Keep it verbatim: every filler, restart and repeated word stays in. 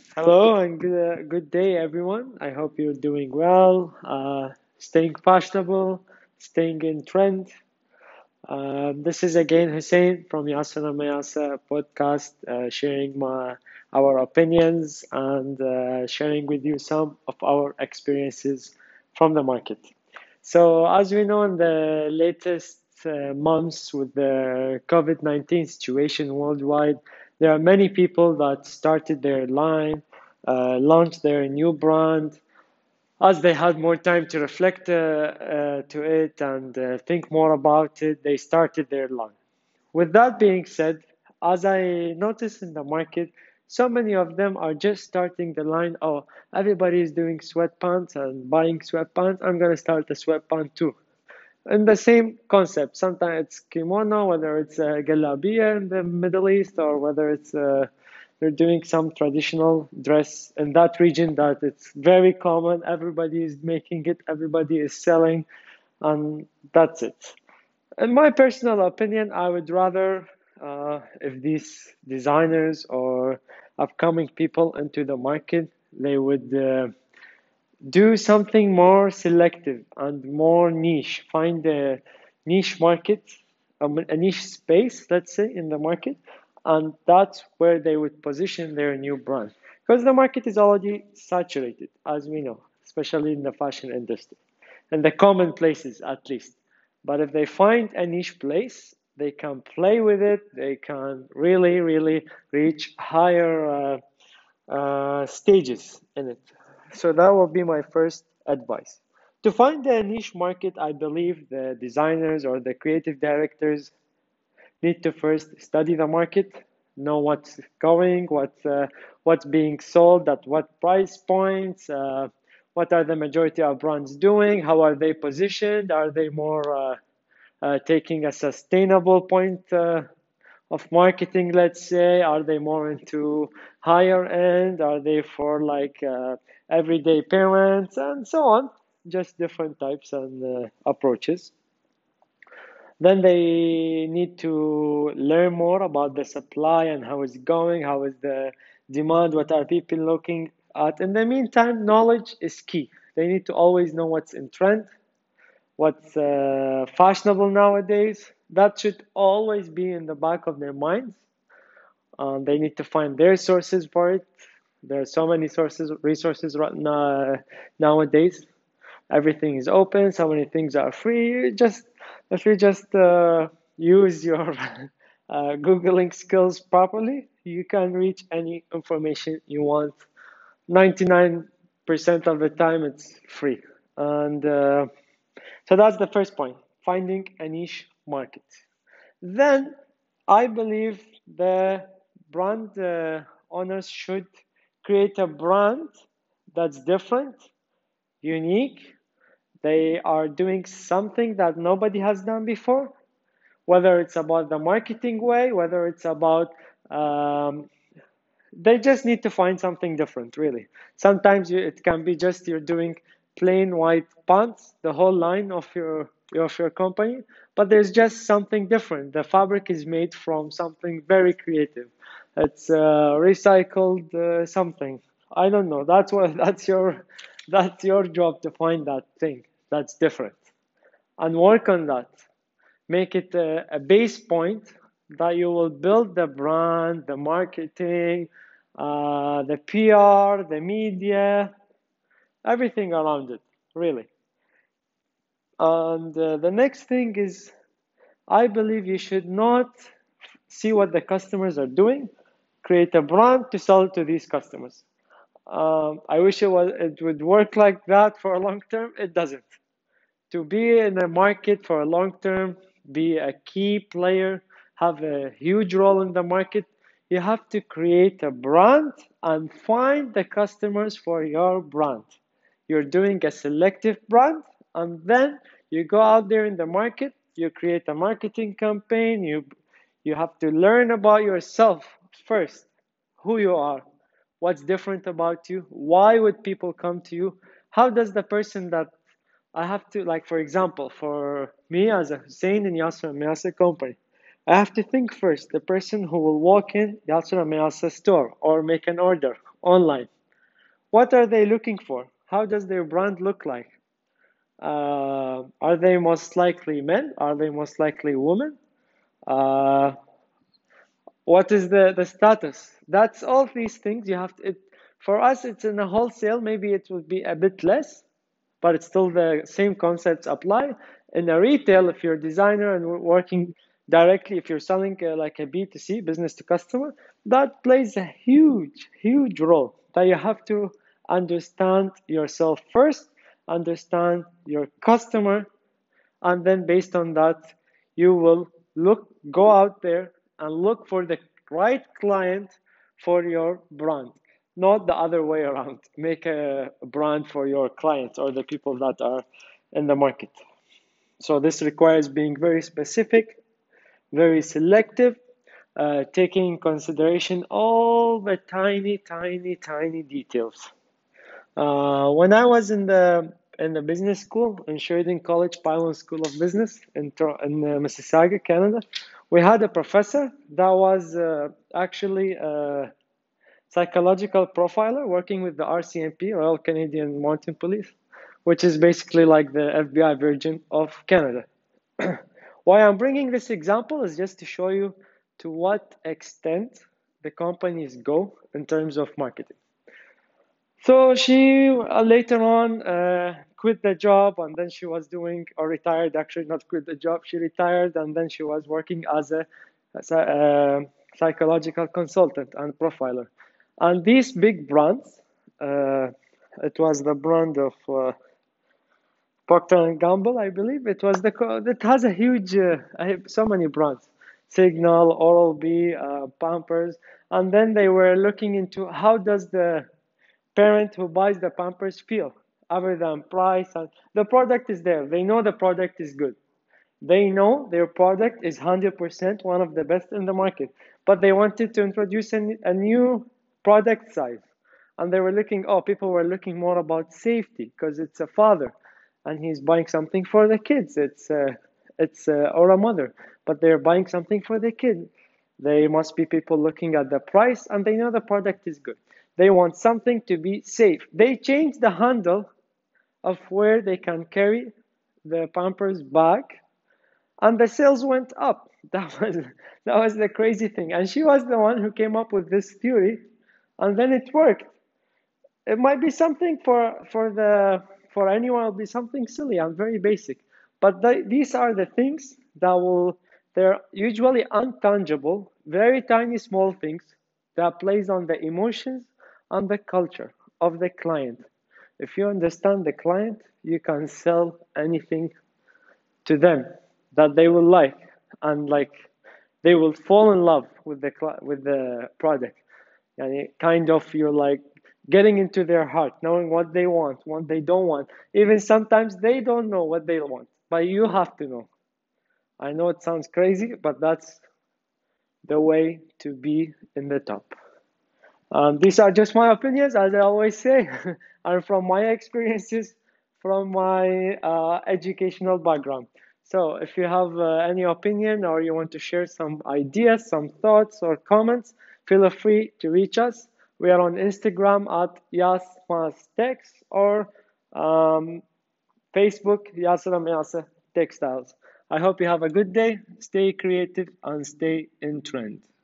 Hello and good, uh, good day, everyone. I hope you're doing well, uh, staying fashionable, staying in trend. Uh, this is again Hussein from Yasser Mayasa podcast, uh, sharing my our opinions and uh, sharing with you some of our experiences from the market. So, as we know, in the latest uh, months with the COVID nineteen situation worldwide, there are many people that started their line, uh, launched their new brand. As they had more time to reflect uh, uh, to it and uh, think more about it, they started their line. With that being said, as I noticed in the market, so many of them are just starting the line. Oh, everybody is doing sweatpants and buying sweatpants. I'm gonna start a sweatpant too. And the same concept. Sometimes it's kimono, whether it's a galabiya in the Middle East, or whether it's uh, they're doing some traditional dress in that region that it's very common. Everybody is making it. Everybody is selling, and that's it. In my personal opinion, I would rather, uh, if these designers or upcoming people into the market, they would uh, do something more selective and more niche. Find a niche market, um, a niche space, let's say, in the market, and that's where they would position their new brand. Because the market is already saturated, as we know, especially in the fashion industry, and the common places at least. But if they find a niche place, they can play with it. They can really, really reach higher uh, uh, stages in it. So that will be my first advice. To find a niche market, I believe the designers or the creative directors need to first study the market, know what's going, what's uh, what's being sold at what price points, uh, what are the majority of brands doing, how are they positioned, are they more uh, uh, taking a sustainable point uh, of marketing, let's say, are they more into higher end, are they for like uh, everyday parents and so on, just different types and uh, approaches. Then they need to learn more about the supply and how it's going, how is the demand, what are people looking at. In the meantime, knowledge is key. They need to always know what's in trend, what's uh, fashionable nowadays. That should always be in the back of their minds. Um, they need to find their sources for it. There are so many sources, resources right now, nowadays. Everything is open. So many things are free. Just if you just uh, use your uh, googling skills properly, you can reach any information you want. ninety-nine percent of the time, it's free. And uh, so that's the first point: finding a niche market. Then I believe the brand uh, owners should create a brand that's different, unique. They are doing something that nobody has done before, whether it's about the marketing way, whether it's about, um, they just need to find something different, really. Sometimes you, it can be just you're doing plain white pants, the whole line of your of your company, but there's just something different. The fabric is made from something very creative. It's uh, recycled uh, something. I don't know. That's what that's your that's your job to find that thing that's different and work on that. Make it a, a base point that you will build the brand, the marketing, uh, the P R, the media, everything around it, really. And uh, the next thing is, I believe you should not see what the customers are doing, create a brand to sell to these customers. Um, I wish it was it would work like that for a long term. It doesn't. To be in a market for a long term, be a key player, have a huge role in the market, you have to create a brand and find the customers for your brand. You're doing a selective brand, and then you go out there in the market, you create a marketing campaign, you you have to learn about yourself first, who you are, what's different about you, why would people come to you, how does the person that I have to, like, for example, for me as a Hussein and Yasser Miyasa company, I have to think first. The person who will walk in Yasura Mayasa store or make an order online, what are they looking for? How does their brand look like? Uh, are they most likely men? Are they most likely women? Uh, what is the, the status? That's all these things you have to. It, for us, it's in a wholesale. Maybe it would be a bit less, but it's still the same concepts apply. In a retail, if you're a designer and working directly, if you're selling uh, like a B two C, business to customer, that plays a huge, huge role that you have to understand yourself first, understand your customer, and then based on that, you will look, go out there and look for the right client for your brand, not the other way around. Make a brand for your clients or the people that are in the market. So this requires being very specific, very selective, uh, taking in consideration all the tiny, tiny, tiny details. Uh, when I was in the in the business school in Sheridan College, Pylon School of Business in in uh, Mississauga, Canada, we had a professor that was uh, actually a psychological profiler working with the R C M P, Royal Canadian Mounted Police, which is basically like the F B I version of Canada. Why I'm bringing this example is just to show you to what extent the companies go in terms of marketing. So she uh, later on uh, quit the job, and then she was doing, or retired actually, not quit the job. She retired, and then she was working as a, as a uh, psychological consultant and profiler. And these big brands, uh, it was the brand of uh, Procter and Gamble, I believe. It was the it has a huge, uh, I have so many brands, Signal, Oral-B, uh, Pampers, and then they were looking into how does the parent who buys the Pampers feel, other than price. And the product is there. They know the product is good. They know their product is one hundred percent one of the best in the market. But they wanted to introduce a, a new product size. And they were looking, oh, people were looking more about safety because it's a father and he's buying something for the kids. It's, uh, it's uh, or a mother, but they're buying something for the kid. They must be people looking at the price and they know the product is good. They want something to be safe. They change the handle of where they can carry the Pampers bag, and the sales went up. That was that was the crazy thing. And she was the one who came up with this theory, and then it worked. It might be something for for the for anyone. It'll be something silly and very basic, but the, these are the things that will. They're usually untangible, very tiny, small things that plays on the emotions and the culture of the client. If you understand the client, you can sell anything to them that they will like, and like they will fall in love with the with the product. And kind of you're like getting into their heart, knowing what they want, what they don't want. Even sometimes they don't know what they want, but you have to know. I know it sounds crazy, but that's the way to be in the top. Um, these are just my opinions, as I always say, and from my experiences, from my uh, educational background. So if you have uh, any opinion or you want to share some ideas, some thoughts or comments, feel free to reach us. We are on Instagram at YasMasTex or um, Facebook, Yasra Mayasa Textiles. I hope you have a good day, stay creative, and stay in trend.